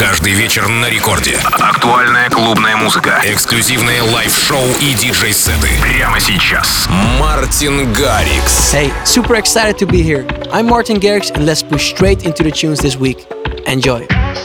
Каждый вечер на рекорде. Актуальная клубная музыка, эксклюзивные лайв-шоу и диджей-сеты. Прямо сейчас. Мартин Гаррикс. Hey, super excited to be here. I'm Martin Garrix and let's push straight into the tunes this week. Enjoy.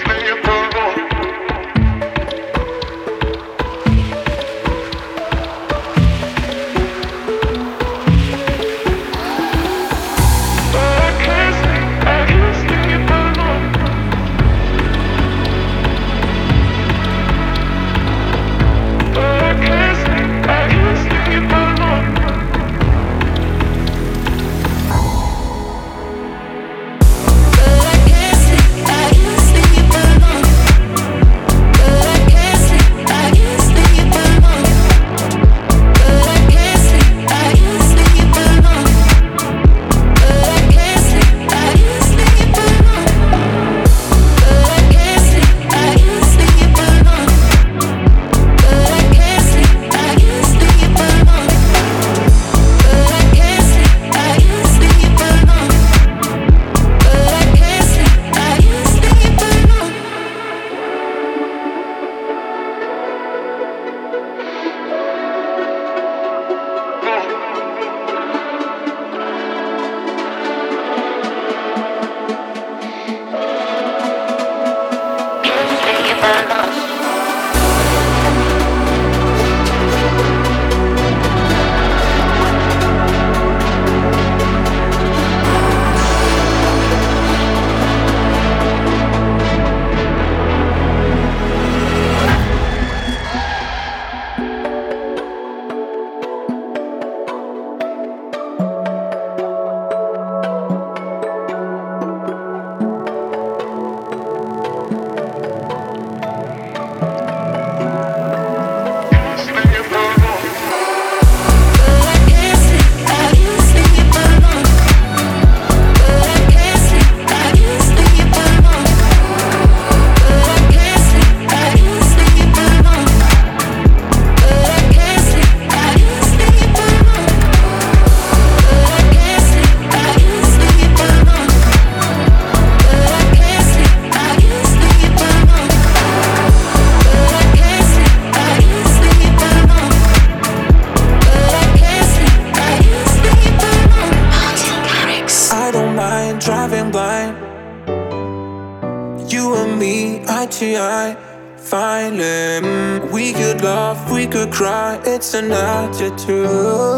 It's an attitude.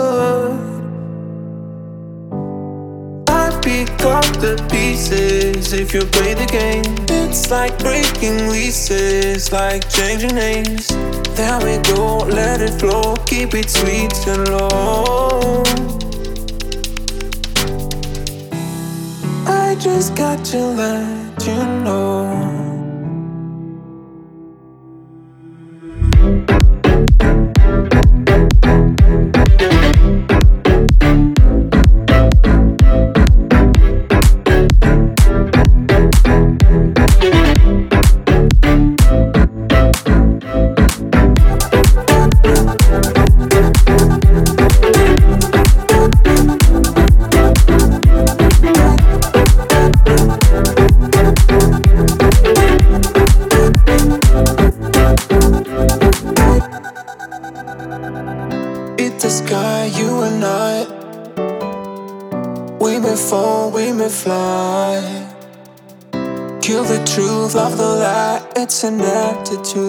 I pick up the pieces if you play the game. It's like breaking leases, like changing names. There we go, let it flow, keep it sweet and low. I just got to let you know. Fly. Kill the truth, love the lie. It's an attitude.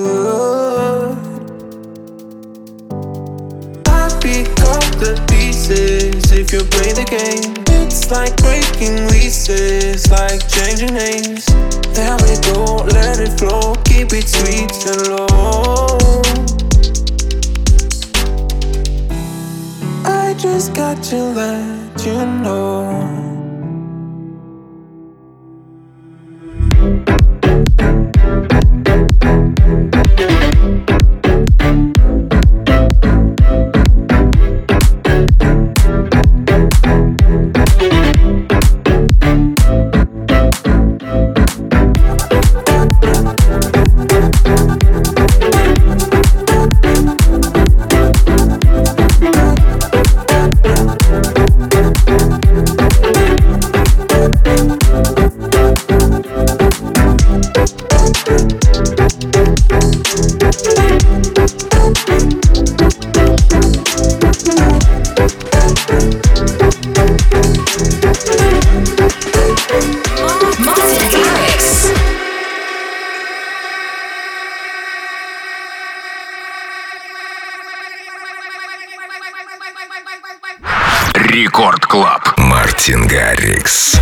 I pick up the pieces if you play the game. It's like breaking leases, like changing names. There we go, let it flow, keep it sweet and low. I just got to let you know. Martin Garrix. Рекорд Клаб. Мартин Гаррикс.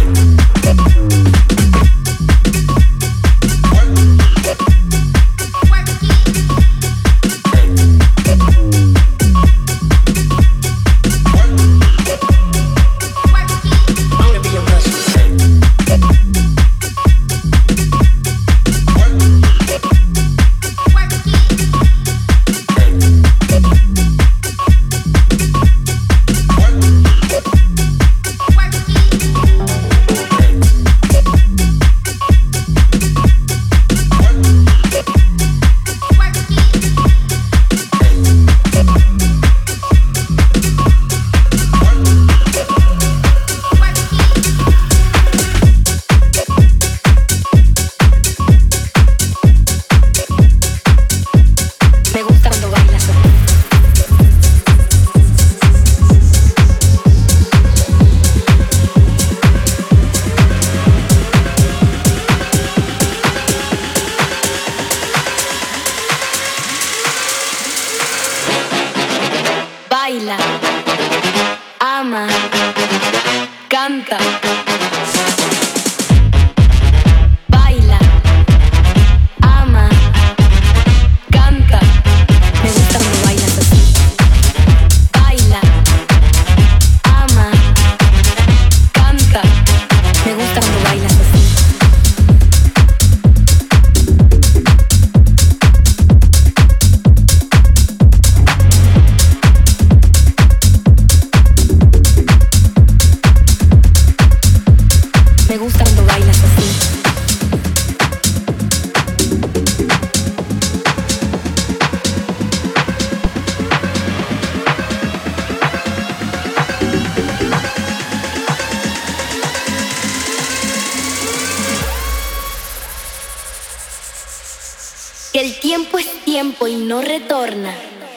Que el tiempo es tiempo y no retorna.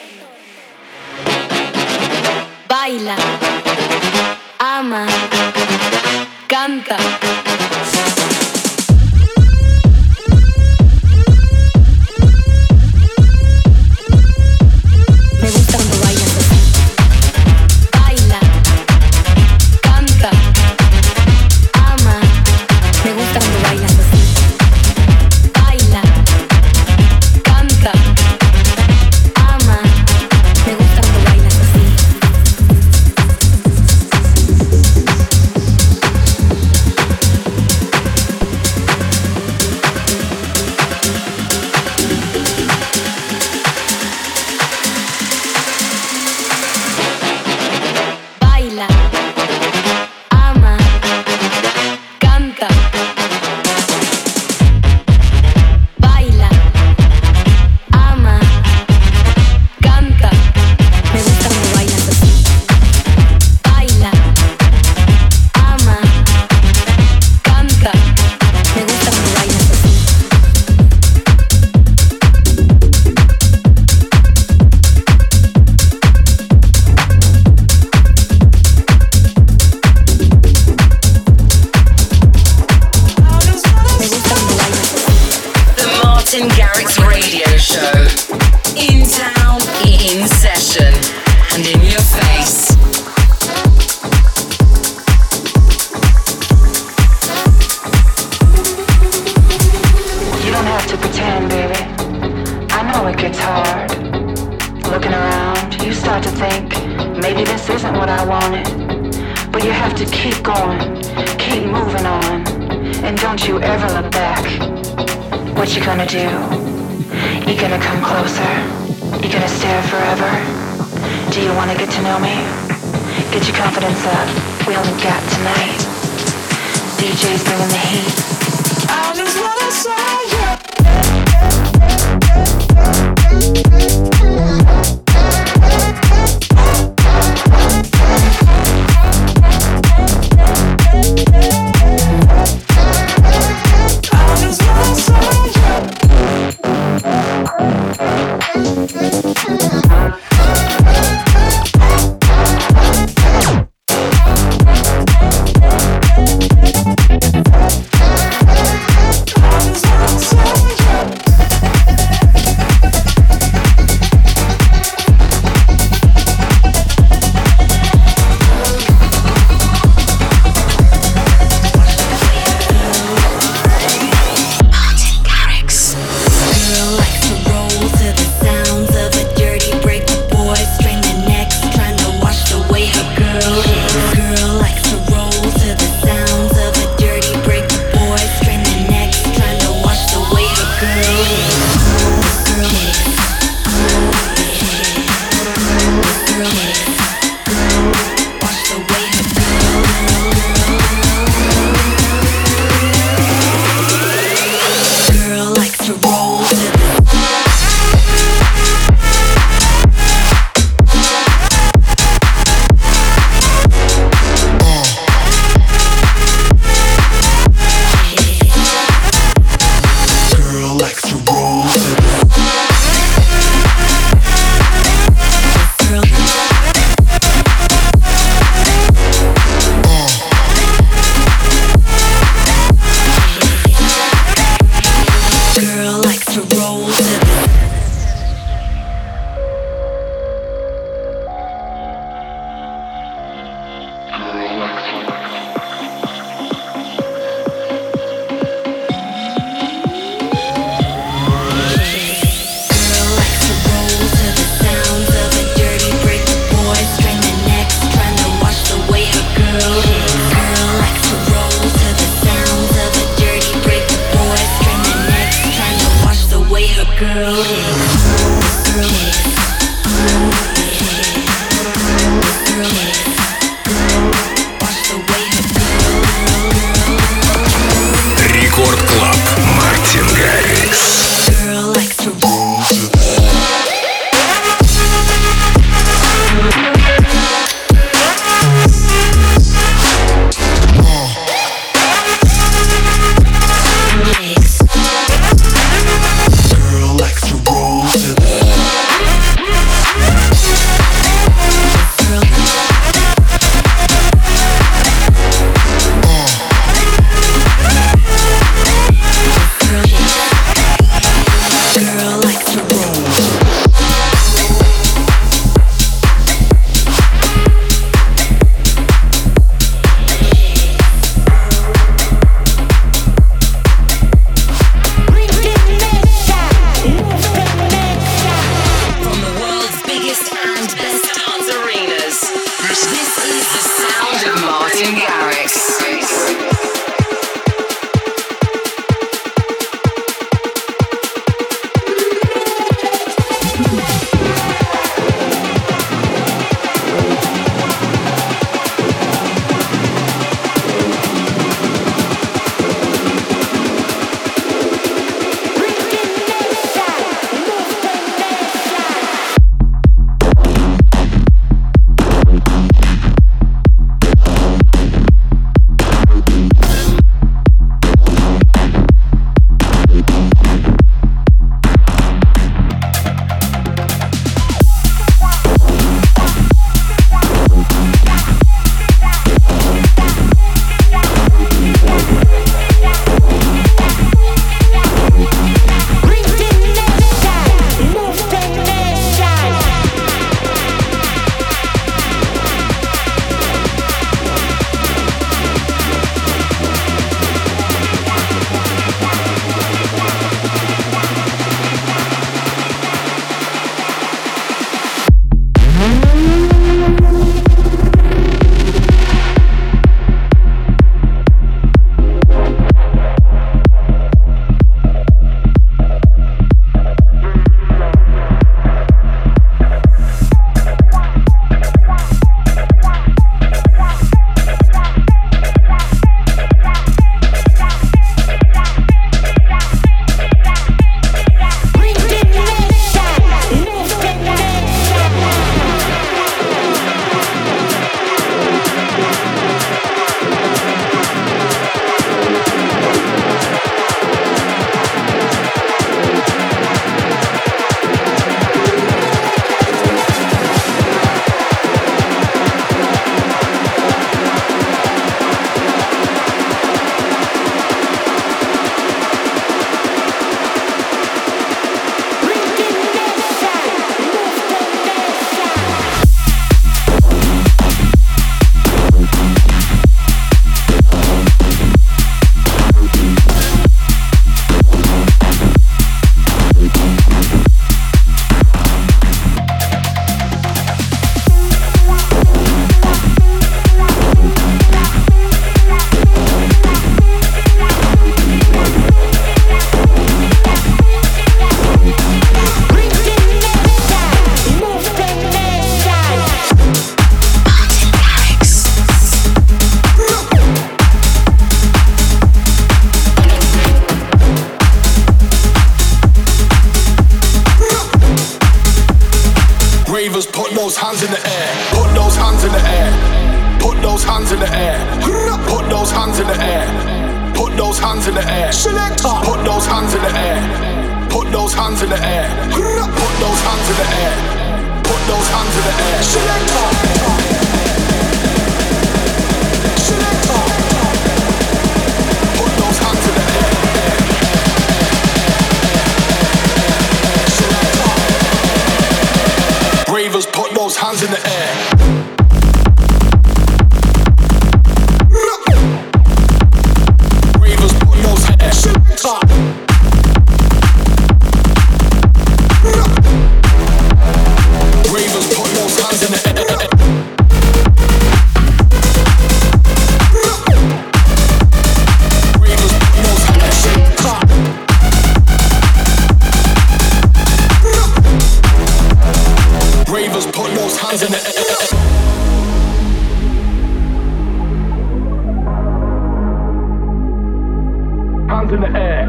Baila, ama, canta. Me gusta cuando bailas así. Baila, canta, ama. Me gusta cuando bailas así. Baila, canta, ama. Me gusta cuando bailas así. Baila, ama, canta. Baila, ama, canta. Me gusta cuando bailas así. Baila, ama, canta. Me gusta cuando bailas así. Me gusta cuando bailas así. The Martin Garrix Radio Show. In town, in session, and in your face. You don't have to pretend, baby. I know it gets hard. Looking around, you start to think, maybe this isn't what I wanted. But you have to keep going, keep moving on. And don't you ever look back. What you gonna do? You gonna come closer? You gonna stare forever? Do you wanna get to know me? Get your confidence up, we only got tonight. DJ's bringing the heat. I just wanna say yeah. Рекорд Клаб. Мартин Гаррикс. those hands in the air. Put those hands in the air. Put those hands in the air. Put those hands in the air. Put those hands in the air. Selector. Put those hands in the air. Put those hands in the air. Put those hands in the air. Put those hands in the air. Selector. Selector. Put those hands in the air. Selector. Bravers, put those hands in the air. Ravers, put those hands in the air. hands in the air.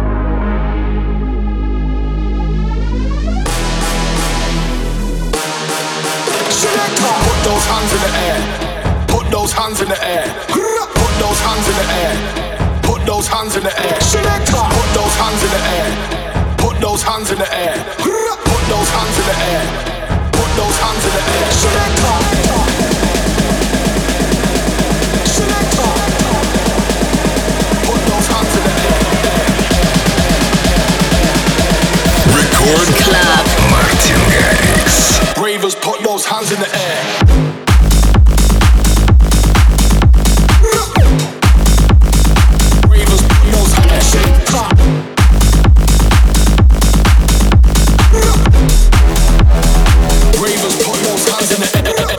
Put those hands in the air. Put those hands in the air. Put those hands in the air. Put those hands in the air. Put those hands in the air. Put those hands in the air. Put those hands in the air. Put those hands in the air. Put those hands in the air. Record Club. Martin Garrix. Bravers, put those hands in the air. Bravers, put those hands in the air. Bravers, put those hands in the air.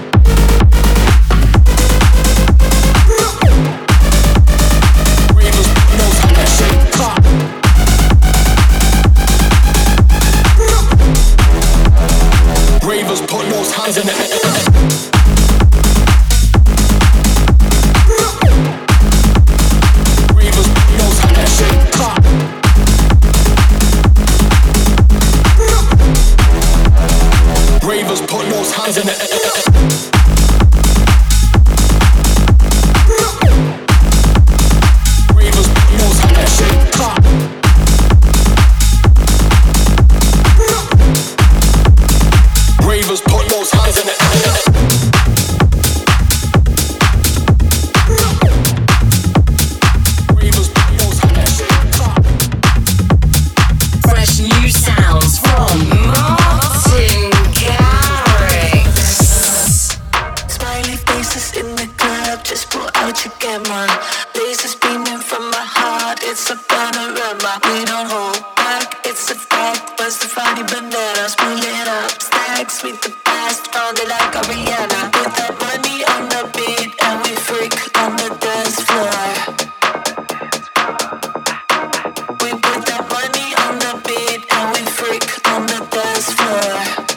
Bravers, put those hands in the air. Bravers, put those hands in the air. Bravers, put those hands in the air. Bravers, put those hands in the air. Bravers, put those hands in the air. Bravers, put those hands in the air. Bravers, put those hands in the air. Fresh new sounds from Martin Garrix. Smiley faces in the club, just pull out your camera. Lasers beaming from my heart, it's a panorama. We don't hold back, it's a fact. Bust the funny bananas, pull it up. Stacks with the past, found it like Ariana. Put that money on the beat and we freak on the dance floor. We put that money on the beat and we freak on the dance floor.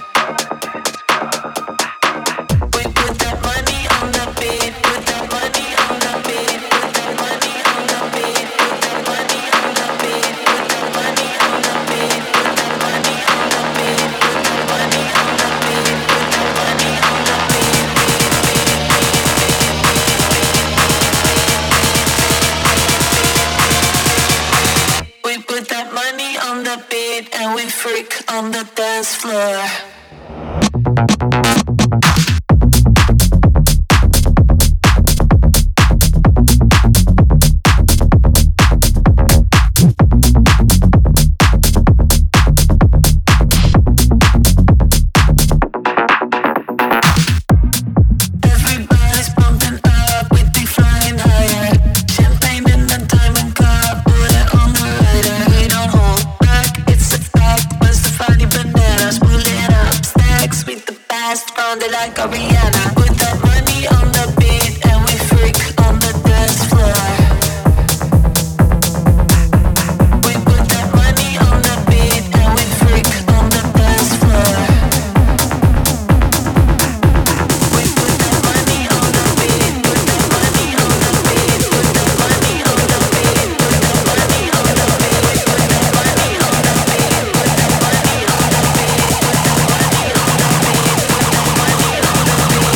We put that money on the beat, put that money on the beat, put that money on the beat, put that money on the beat, put that money on the beat, put that money on the beat, put that money on the beat, put that money on the beat. We put that money on the beat and we freak on the dance floor. Everybody's pumping up, we be flying higher. Champagne in the diamond cup, put it on the rider. We don't hold back, it's a fact. Bust the funny bananas, pull it up. Stacks with the past, found it like Ariana. Put that money on the beat and we freak on the dance floor. We put that money on the beat and we freak on the dance floor. We put that money on the beat, put that money on the beat, put that money on the beat, put that money on the beat, put that money on the beat, put that money on the beat, put that money on the beat, put that money on the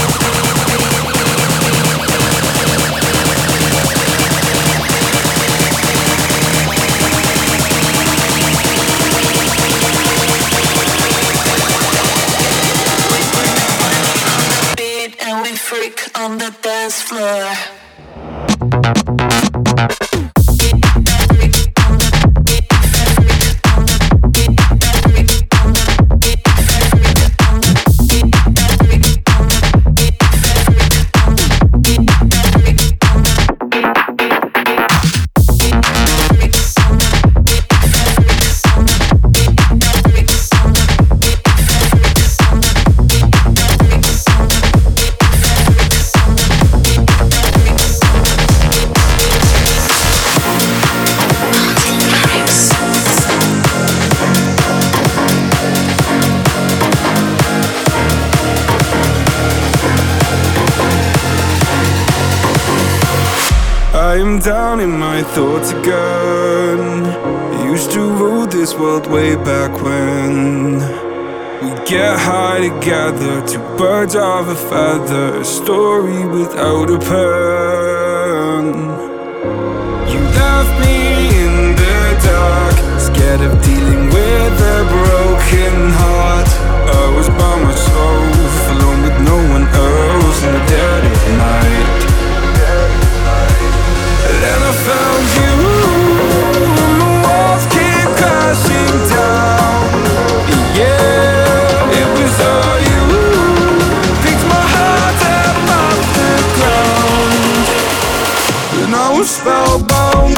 beat and we freak on the dance floor. down in my thoughts again. Used to rule this world way back when. We get high together, two birds of a feather, a story without a pen. You left me in the dark, scared of dealing with a broken heart. I was by myself, alone with no one else in the dead of night. Then I found you, and the walls keep crashing down. Yeah, it was all you. Picked my heart up off the ground, and I was spellbound.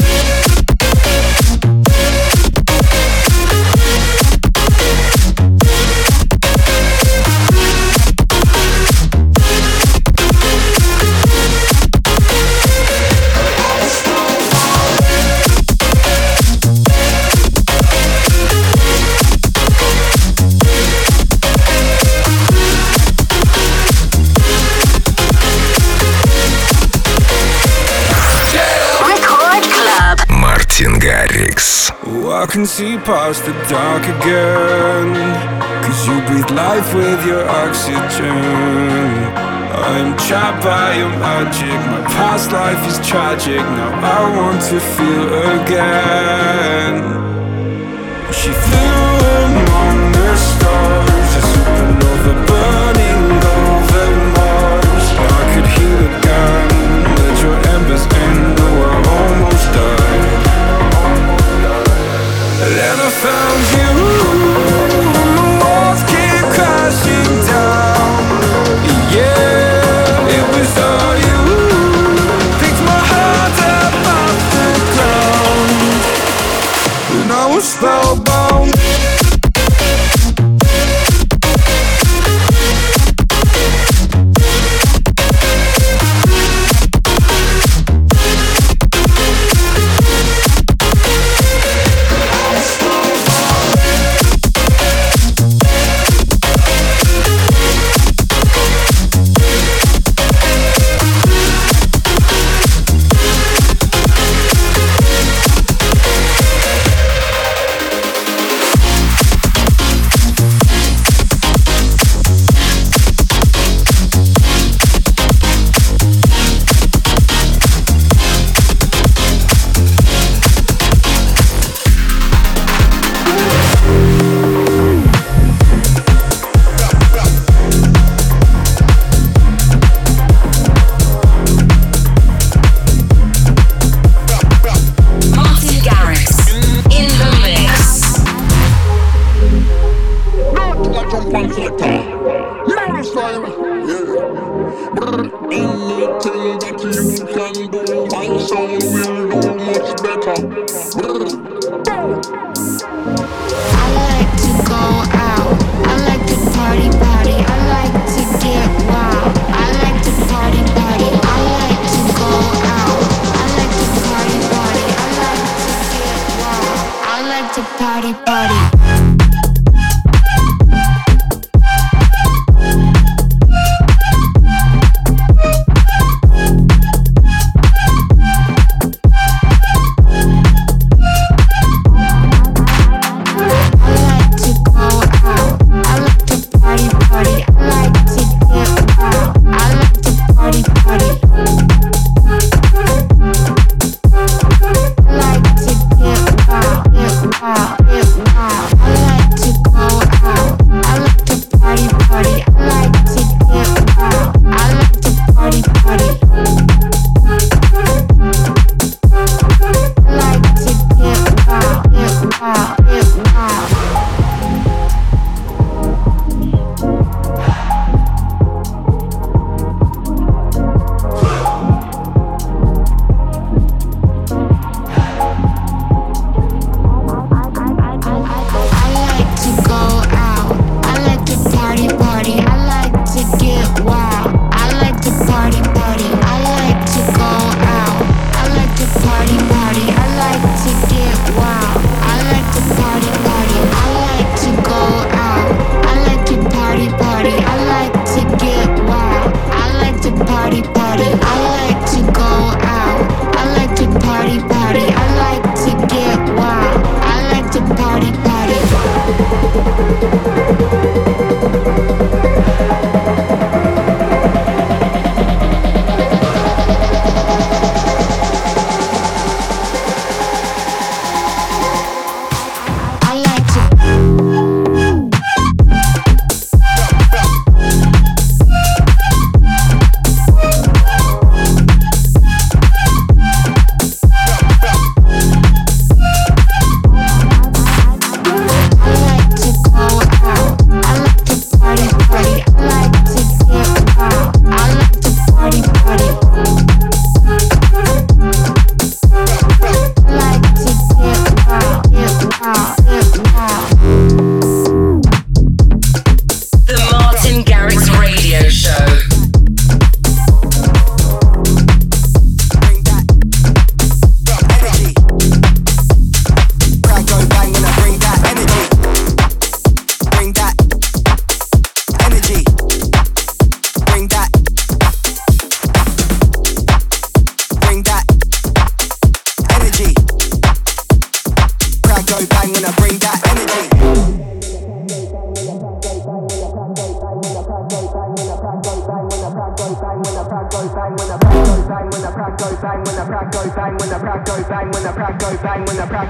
Oh, I can see past the dark again, 'cause you breathe life with your oxygen. I'm trapped by your magic, my past life is tragic. Now I want to feel again. She flew among the stars, a supernova burning over Mars. I could heal again, let your embers in, though I almost died. Then I found you, and the walls keep crashing down. Yeah, it was all you. Picked my heart up off the ground, and I was spellbound. I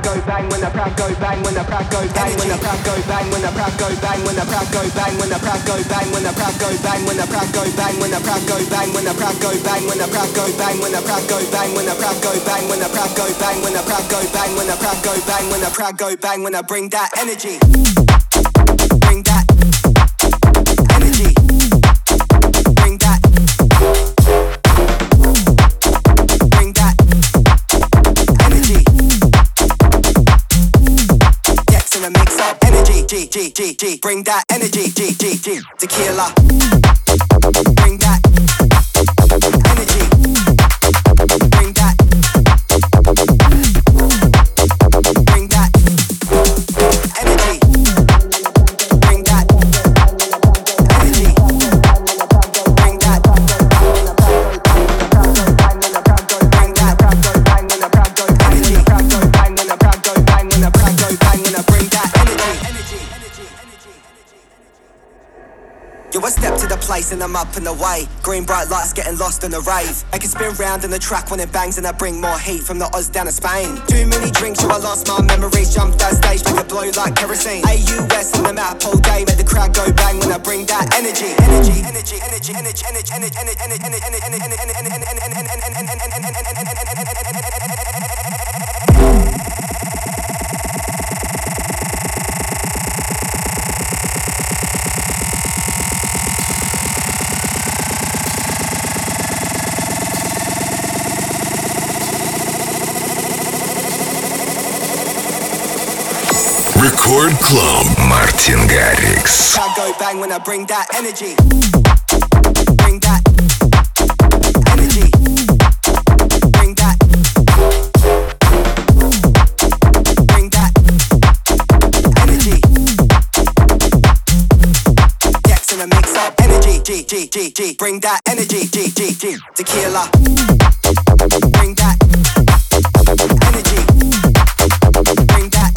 go bang, when the crowd go bang, when the crowd go bang, when the crowd go bang, when the crowd go bang, when the crowd go bang, when the crowd go bang, when the crowd go bang, when the crowd go bang, when the crowd go bang, when the crowd go bang, when the crowd go bang, when the crowd go bang, when the crowd go bang, when the crowd go bang, when the crowd go bang, when the crowd go bang, when the crowd go bang, when I bring that energy. Bring that energy. Bring that. Bring that energy. Dex in a mix up energy. G. Bring that energy. G. Tequila. Bring that energy. Bring that. Bring that energy. Bring that energy. Bring that. Yo, I step to the place and I'm up and away. Green bright lights getting lost in the rave. I can spin round in the track when it bangs and I bring more heat from the Oz down to Spain. Too many drinks, so I lost my memories. Jumped that stage, make it blow like kerosene. AUS on the map all day, make the crowd go bang when I bring that energy. Energy. Record Club. Мартин Гаррикс. I'll go bang when I bring that energy. Bring that energy. Bring that. Bring that energy. Dex in a mix up energy. G. Bring that energy. G. Tequila. Bring that energy. Bring that.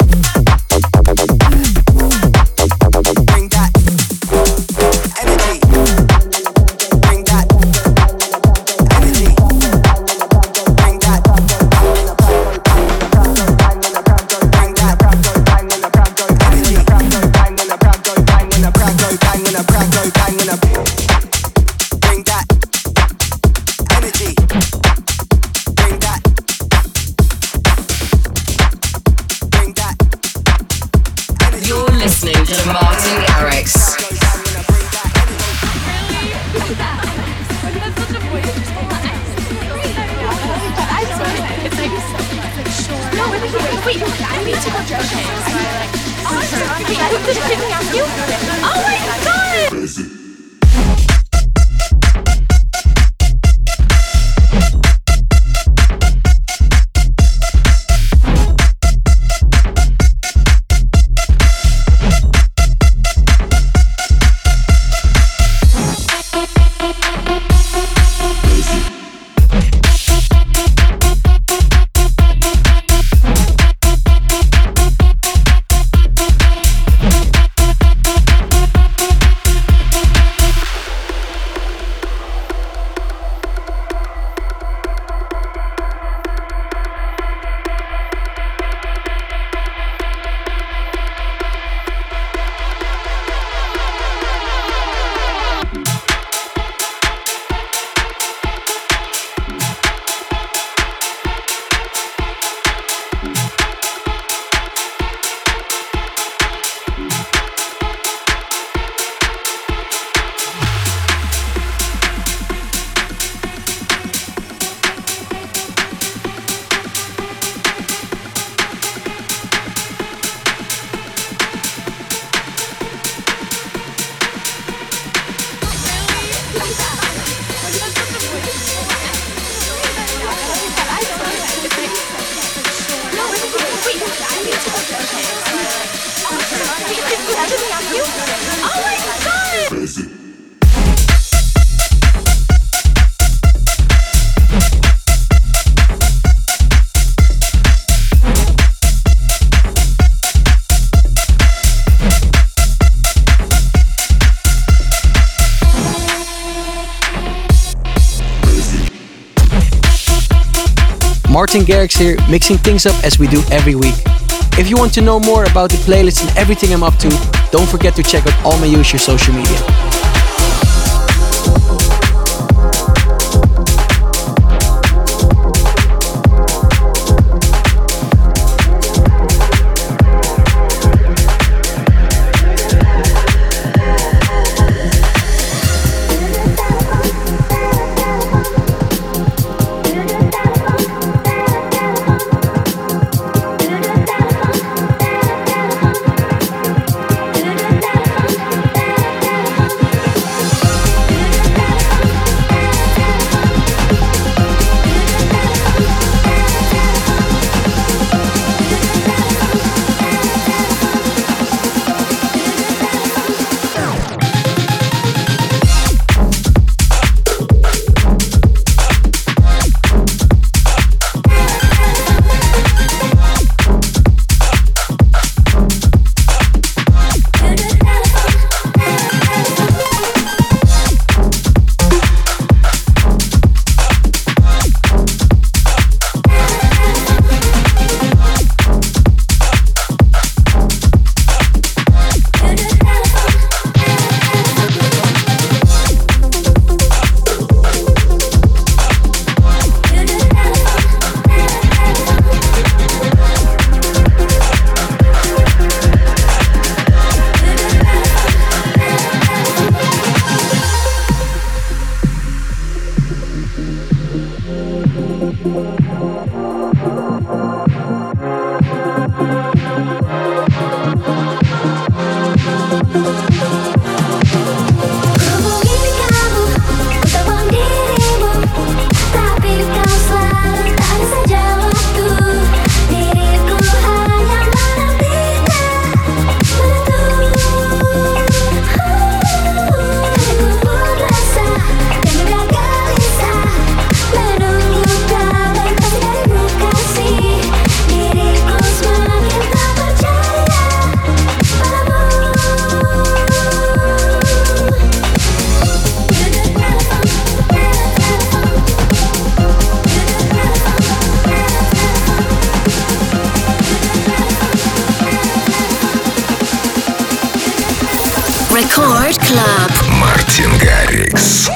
Bring that energy. Bring that energy. Bring that. Bring that energy. Bring that. You're listening to Martin Garrix. Wait, I need to go dress change. Can I ask you? Oh my god! Martin Garrix here, mixing things up as we do every week. If you want to know more about the playlist and everything I'm up to, don't forget to check out all my usual social media. Record Club. Мартин Гаррикс.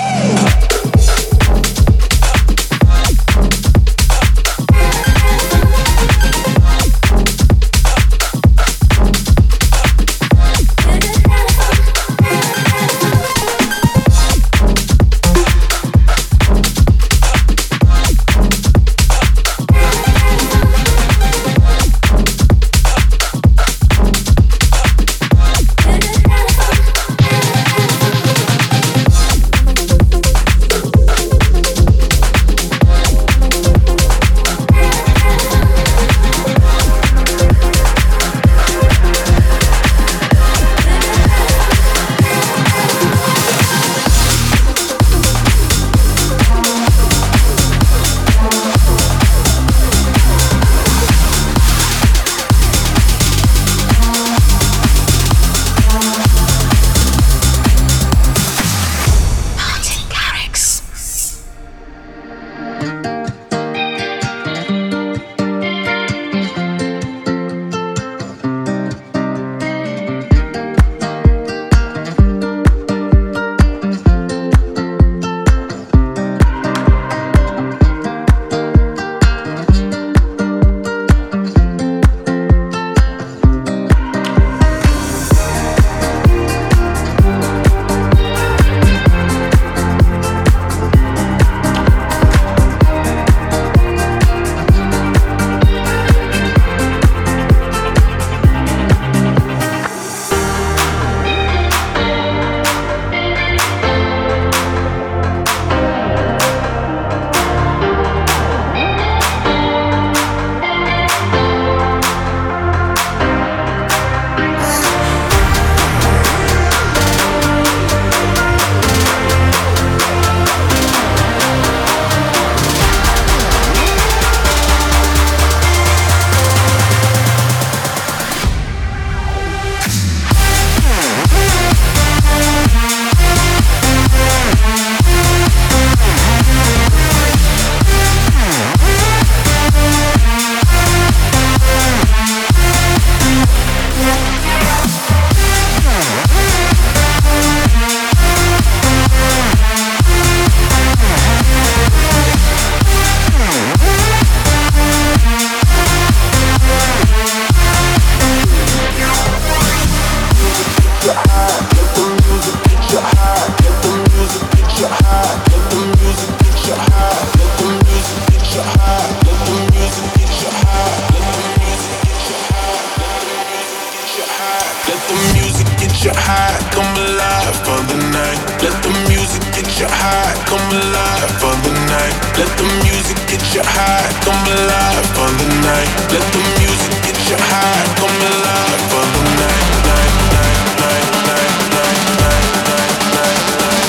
you high, come alive for the night. Let the music get you high, come alive for the night. Let the music get you high, come alive for the night. Night, night, night, night, night, night, night, night,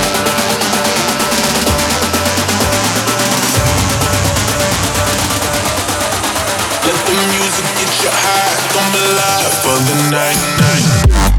night. Let the music get you high, come alive for the night. Night.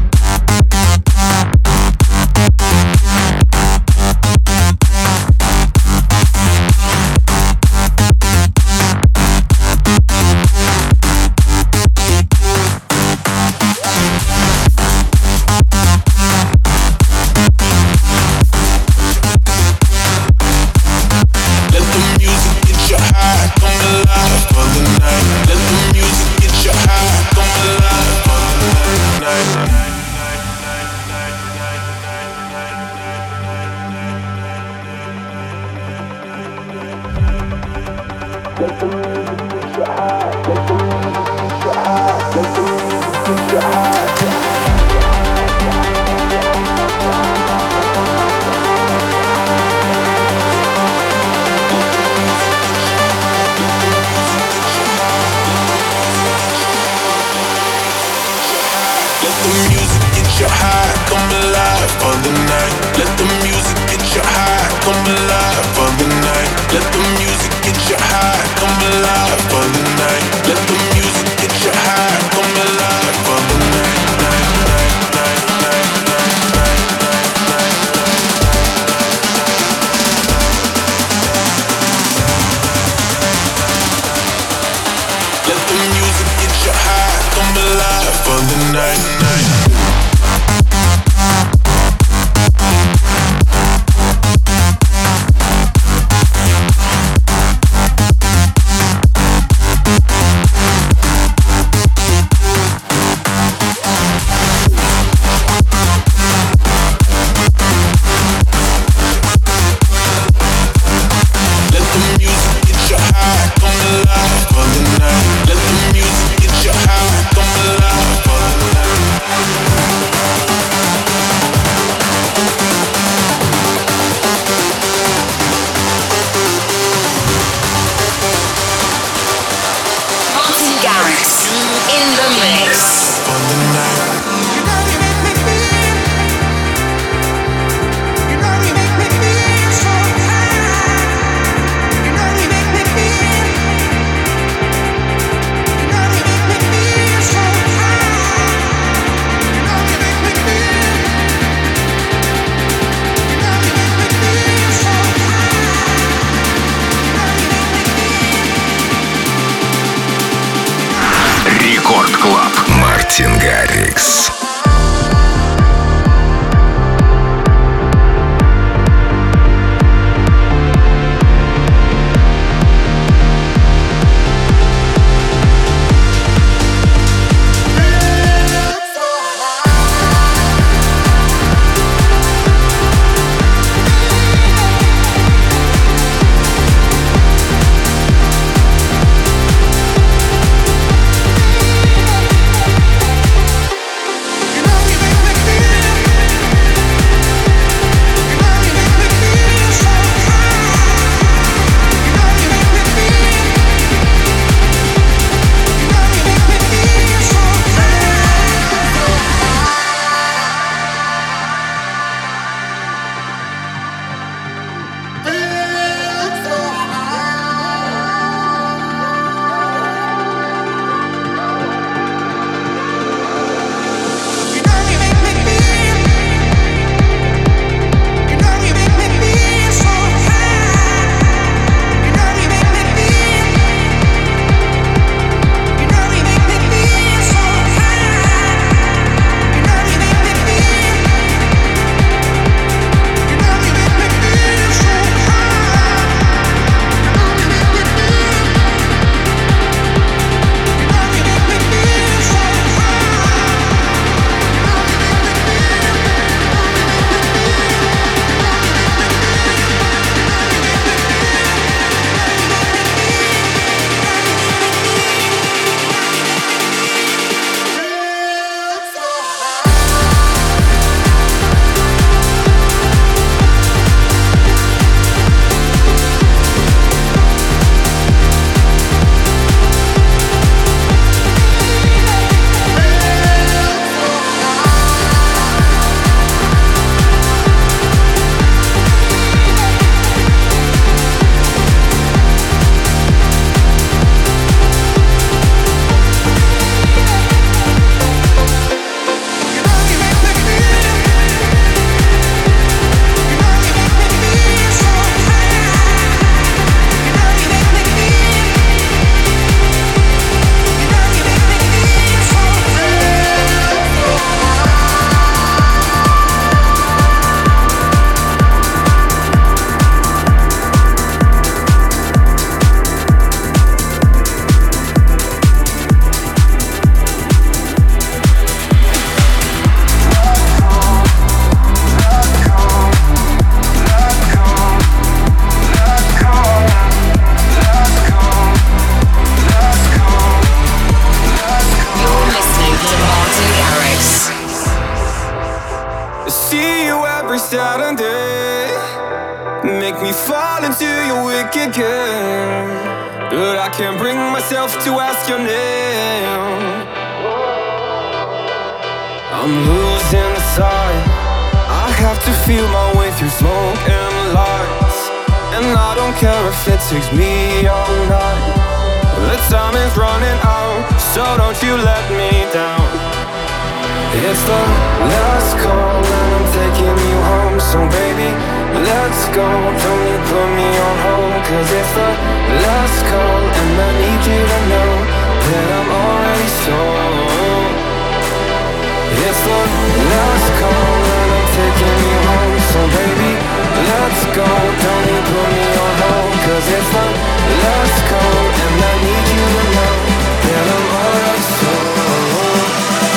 Мартин Гаррикс. modern day. Make me fall into your wicked game, but I can't bring myself to ask your name. I'm losing sight. I have to feel my way through smoke and lights, and I don't care if it takes me all night. The time is running out, so don't you let me down. It's the last call and I'm taking you home. So baby, let's go, don't you put me on hold. Cause it's the last call and I need you to know that I'm already sold. It's the last call and I'm taking you home. So baby, let's go, don't you put me on hold. Cause it's the last call and I need you to know that I'm already sold.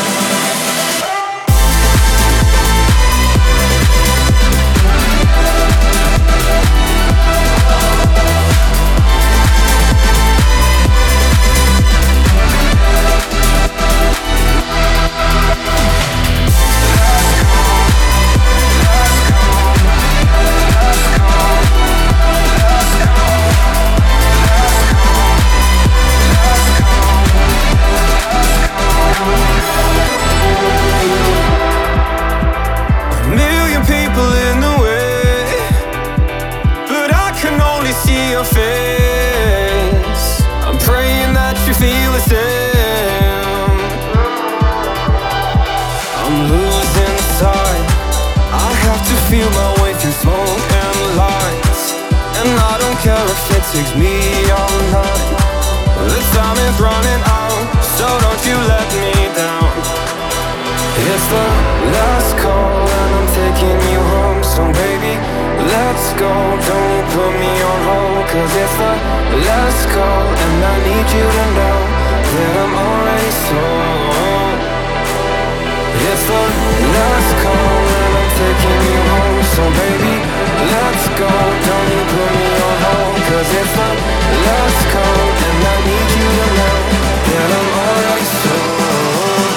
Takes me all night. The time is running out, so don't you let me down. It's the last call and I'm taking you home. So baby, let's go, don't you put me on hold. Cause it's the last call and I need you to know that I'm already sold. It's the last call and I'm taking you home. So baby, let's go, don't you put me on hold. Cause it's the last call and I need you to know that I'm already sold.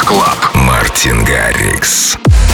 Club. Мартин Гаррикс.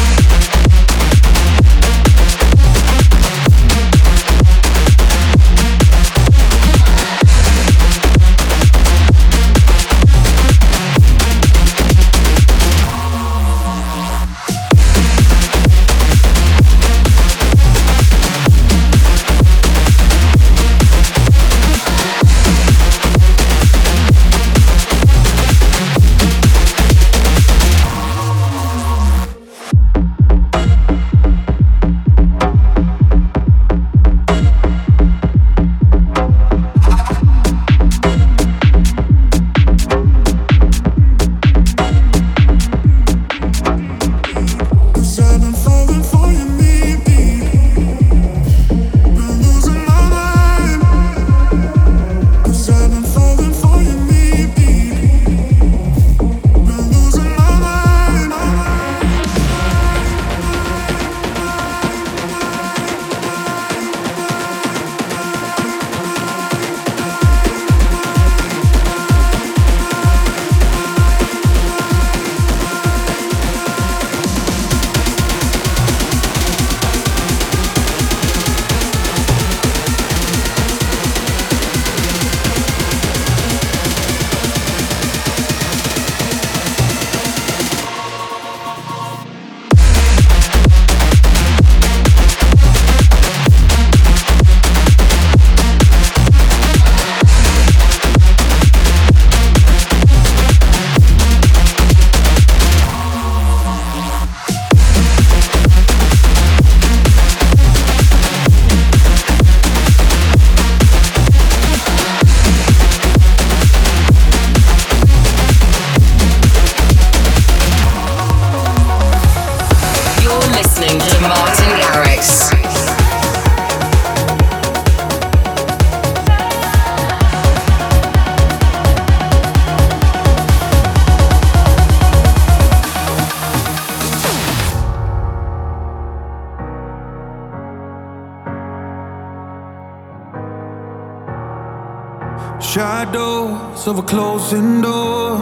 Shadows of a closing door,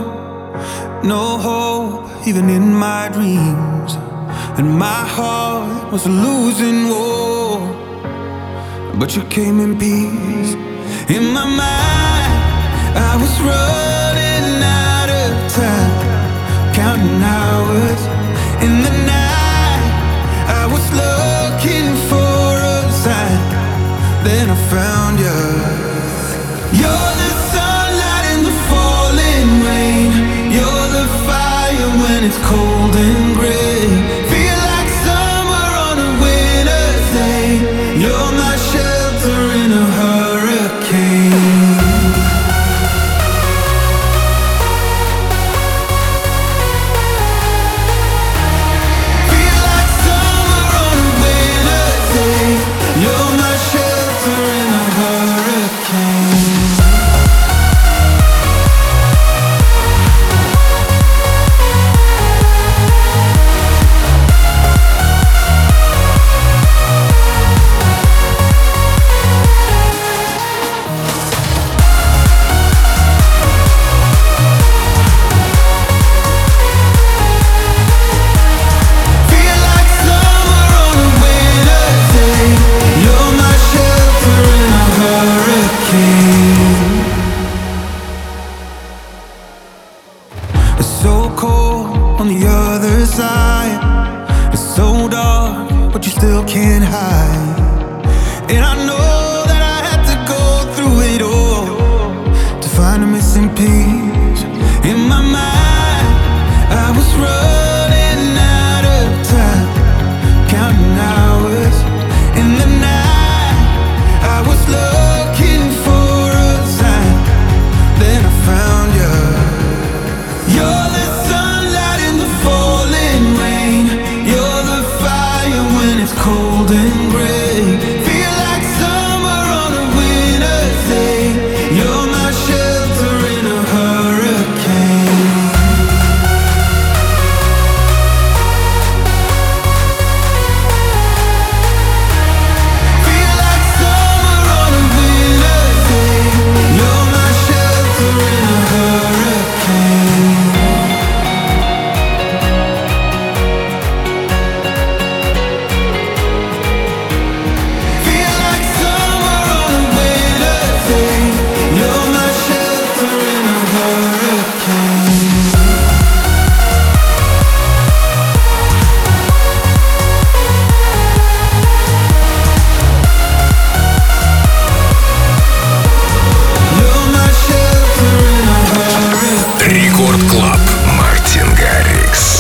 no hope even in my dreams, and my heart was a losing war, but you came in peace. In my mind I was running out of time, counting hours. In the night I was looking for a sign, then I found you. You're the sunlight in the falling rain, you're the fire when it's cold and gray. Feel like summer on a winter's day, you're my shelter in a hurricane. Feel like summer on a winter's day, you're my shelter in a hurricane.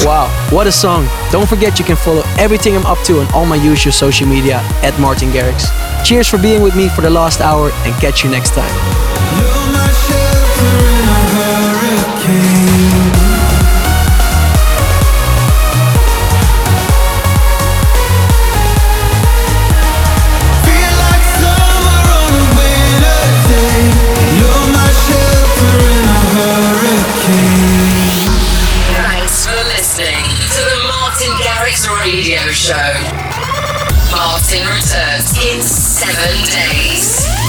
Wow, what a song. Don't forget you can follow everything I'm up to on all my usual social media at Martin Garrix. Cheers for being with me for the last hour and catch you next time. You're my shelter in a hurricane. Feel like summer on a winter day. You're my shelter in a hurricane. Thanks for listening to the Martin Garrix Radio Show. Martin returns in 7 days.